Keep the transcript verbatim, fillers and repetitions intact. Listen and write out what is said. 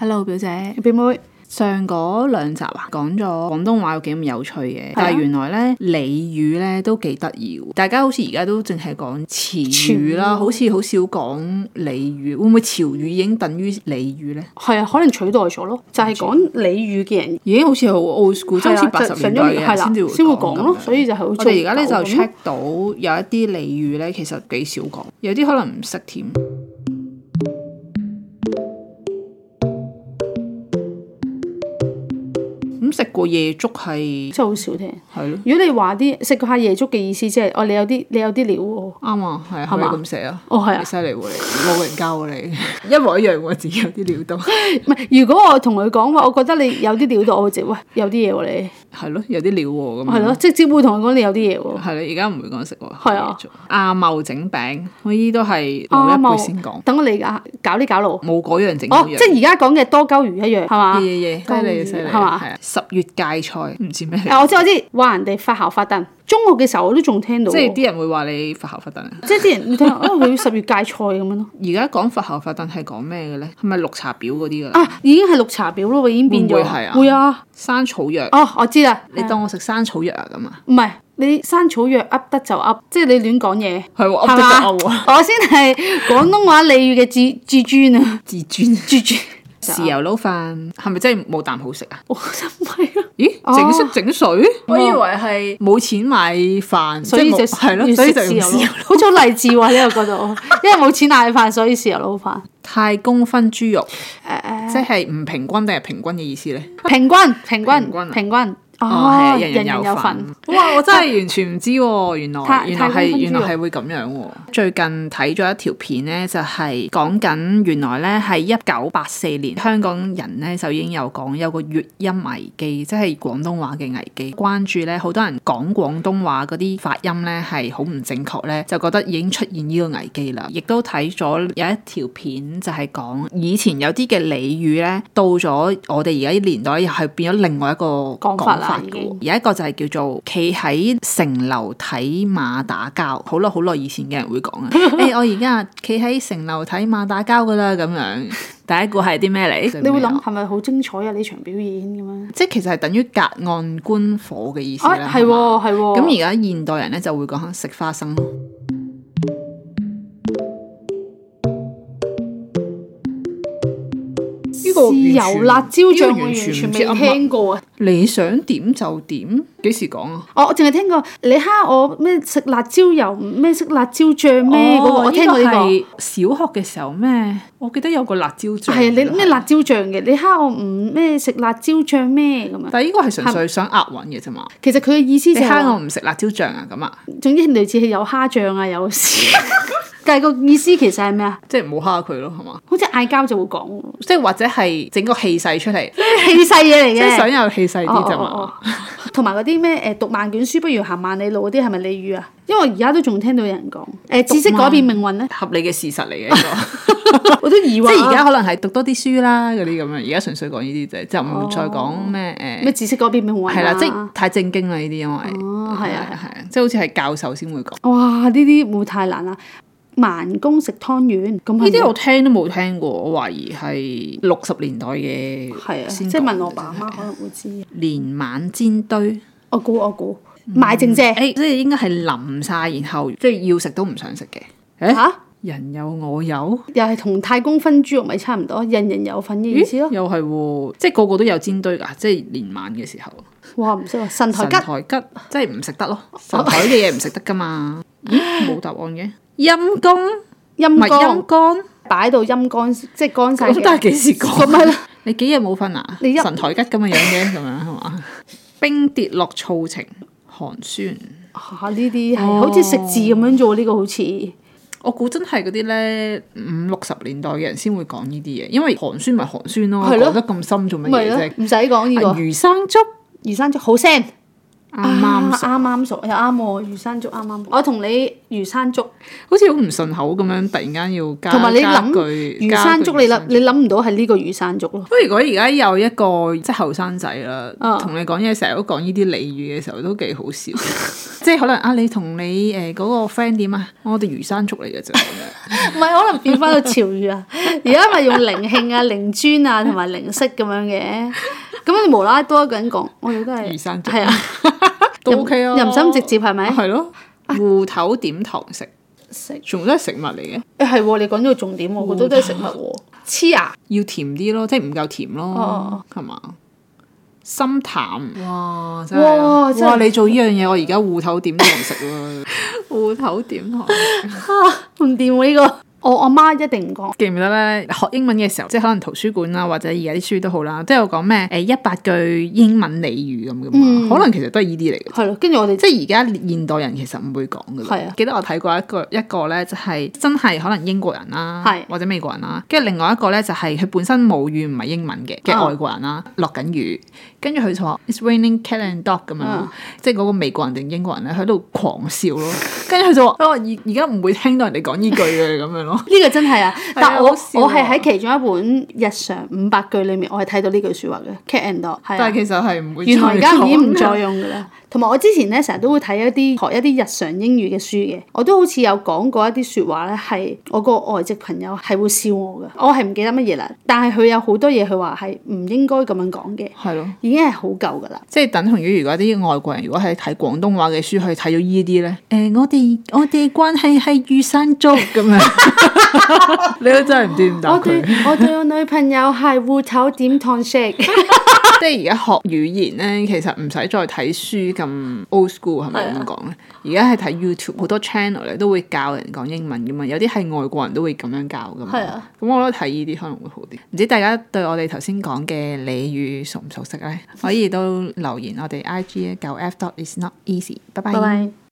Hello 表姐， 表妹。 上嗰兩集啊，講咗廣東話有幾咁有趣嘅，啊、但係原來咧俚語咧都幾得意喎。大家好似而家都淨係講詞語啦，好似好少講俚語。會唔會潮語已經等於俚語咧？ 係啊，可能取代咗咯。就係講俚語嘅人已經好似好 old school，即係好似八十年代嘅人先至會先會講咯。所以就係好。我哋而家咧就 check 到有一啲俚語咧，其實幾少講，有啲可能唔識添。食過夜粥係真係好少聽， 係咯。 如果你話啲食過下夜粥嘅意思，即係哦，你有啲你有啲料喎。 啱啊，係啊，係咪咁寫啊？ 哦，係啊， 犀利喎你，老人家喎你，一模一樣喎，自己有啲料到。 唔係，如果我同佢講話，我覺得你有啲料到，我會直喂有啲嘢喎你。 係咯，有啲料喎咁。係咯，即係只會同佢講你有啲嘢喎。 係啦，而家唔會講食喎。 係啊， 阿茂整餅，我依啲都係老一輩先講。 等我嚟㗎，搞啲搞路。 冇嗰樣整嗰樣。 哦，即係而家講嘅多鳩魚一樣係嘛？ 嘢嘢嘢，犀利犀利係嘛？係啊，十月芥菜唔知咩。 啊，我知我知，話人哋發姣發燉。中學嘅時候我都仲聽到。即係啲人會話你發姣發燉啊？ 即係啲人會聽，哦佢十月芥菜咁樣咯。 而家講發姣發燉係講咩嘅咧？係咪綠茶婊嗰啲㗎？ 啊，已經係綠茶婊咯，已經變咗。 會係啊？ 會啊。 生草藥。 哦，我知啦。 你當我食生草藥啊咁啊？ 唔係，你生草藥噏得就噏，即係你亂講嘢。 係喎，噏得就噏喎。 我先係廣東話俚語嘅至至尊啊！ 至尊。 至尊。 豉油撈飯係咪真係冇啖好食啊？ 我真係啊！ 咦，整色整水？我以為係冇錢買飯，所以就係咯，所以就豉油撈。 好似好勵志喎呢個角度，因為冇錢買飯，所以豉油撈飯。 太公分豬肉， 誒即係唔平均定係平均嘅意思咧？ 平均，平均，平均。 哦，人人有份。哇！我真係完全唔知喎，原來原來係原來係會咁樣喎。最近睇咗一條片咧，就係講緊原來咧係一九八四年香港人咧就已經有講有個粵音危機，即係廣東話嘅危機。關注咧好多人講廣東話嗰啲發音咧係好唔正確咧，就覺得已經出現呢個危機啦。亦都睇咗有一條片就係講以前有啲嘅俚語咧，到咗我哋而家啲年代又係變咗另外一個講法啦。有一個就係叫做企喺城樓睇馬打交，好耐好耐以前嘅人會講啊。誒、欸，我而家企喺城樓睇馬打交噶啦，咁樣。第一個係啲咩嚟？ 你會諗係咪好精彩啊？呢場表演咁樣？ 即係其實係等於隔岸觀火嘅意思啦。 係喎係喎。 咁而家現代人咧就會講食花生。 豉油辣椒醬我完全未聽過啊！ 你想點就點，幾時講啊？ 哦，我淨係聽過你蝦我咩食辣椒油咩食辣椒醬咩嗰個，我聽過呢個。 小學嘅時候咩？我記得有個辣椒醬。 係啊，你咩辣椒醬嘅？你蝦我唔咩食辣椒醬咩咁啊？ 但係呢個係純粹想押韻嘅啫嘛。 其實佢嘅意思就係你蝦我唔食辣椒醬啊咁啊。 總之類似係有蝦醬啊，有豉。但係個意思其實係咩啊？ 即係唔好蝦佢咯，係嘛？ 好似嗌交就會講， 即係或者係整個氣勢出嚟， 氣勢嘢嚟嘅， 即係想有氣勢啲啫嘛。 同埋嗰啲咩誒讀萬卷書不如行萬里路嗰啲係咪俚語啊？因為我而家都仲聽到有人講誒知識改變命運咧， 合理嘅事實嚟嘅呢個。 我都以為即係而家可能係讀多啲書啦嗰啲咁樣，而家純粹講呢啲啫，就唔再講咩誒咩知識改變命運啊。 係啦，即係太正經啦呢啲，因為哦係啊係啊，即係好似係教授先會講。 哇！呢啲會太難啦。慢工食湯圓，咁呢啲我聽都冇聽過，我懷疑係六十年代嘅。 係啊，即係問我爸媽可能會知。 年晚煎堆， 我估我估賣剩啫。 誒，即係應該係淋晒，然後即係要食都唔想食嘅。誒嚇，人有我有， 又係同太公分豬肉咪差唔多，人人有份嘅意思咯。 又係喎，即係個個都有煎堆㗎，即係年晚嘅時候。 哇！唔識喎，神台吉。 神台吉即係唔食得咯，神台嘅嘢唔食得㗎嘛。咦？冇答案嘅。陰公， 陰乾， 陰乾擺到陰乾，即係乾晒。 咁都係幾時講？ 咁係你幾日冇瞓啊？你神台吉咁嘅樣嘅，咁樣係嘛？冰跌落醋情，寒酸。 嚇！呢啲係好似食字咁樣做，呢個好似。 我估真係嗰啲咧五六十年代嘅人先會講呢啲嘢，因為寒酸咪寒酸咯，講得咁深做乜嘢啫？ 唔使講呢個。 魚生粥， 魚生粥好腥。 啱啱熟， 啱啱熟又啱喎，魚生粥啱啱。我同你魚生粥好似好唔順口咁樣，突然間要加同埋你諗句魚生粥，你諗你諗唔到係呢個魚生粥咯。 不過如果而家有一個即係後生仔啦，同、哦、你講嘢成日都講呢啲俚語嘅時候，都幾好笑。即係可能啊，你同你誒嗰個 friend 點啊？我哋魚生粥嚟嘅啫。 唔係可能變翻到潮語啊！而家咪用靈慶啊、靈尊啊同埋靈式咁樣嘅。咁你無啦啦多一個人講，我哋都係魚生粥， 係啊， 都 OK 啊， 又唔使咁直接係咪？ 係咯，芋頭點糖食，食全部都係食物嚟嘅。 誒係喎，你講咗個重點喎，好多都係食物喎。黐牙要甜啲咯，即係唔夠甜咯，係嘛、哦？心淡，哇！真係哇！哇你做呢樣嘢，我而家芋頭點糖食喎，芋頭點糖食， 唔掂喎呢個。我阿媽一定唔講。 記唔記得咧？學英文嘅時候，即係可能圖書館啦，或者而家啲書都好啦，都有講咩誒一百句英文俚語咁嘅嘛。嗯、可能其實都係依啲嚟嘅。 係咯，跟住我哋即係而家現代人其實唔會講㗎啦。係啊。記得我睇過一個一個咧，就係真係可能英國人啦，係或者美國人啦。跟住另外一個咧，就係佢本身母語唔係英文嘅嘅外國人啦，落緊雨，跟住佢就話 It's raining cat and dog 咁樣，嗯、即係嗰個美國人定英國人咧喺度狂笑咯。跟住佢就話：我而而家唔會聽到人哋講呢句嘅咁樣咯。呢個真係啊！但我我係喺其中一本日常五百句裡面，我係睇到呢句説話嘅 cat and dog。但係其實係唔會。原來而家已經唔再用㗎啦。同埋我之前咧成日都會睇一啲學一啲日常英語嘅書嘅，我都好似有講過一啲説話咧，係我個外籍朋友係會笑我嘅。我係唔記得乜嘢啦，但係佢有好多嘢佢話係唔應該咁樣講嘅。係咯，已經係好舊㗎啦。即係等同於如果啲外國人如果係睇廣東話嘅書，去睇咗依啲咧，誒我哋我哋關係係魚生粥咁樣，你都真係唔知點答佢。我對我對我女朋友係芋頭點糖食。即係而家學語言咧，其實唔使再睇書咁 old school 係咪咁講咧？而家係睇 YouTube 好多 channel 咧，都會教人講英文噶嘛。有啲係外國人都會咁樣教噶嘛。係啊。咁我覺得睇呢啲可能會好啲。唔知大家對我哋頭先講嘅俚語熟唔熟悉咧？可以都留言我哋 I G 九 F dot is not easy。拜拜。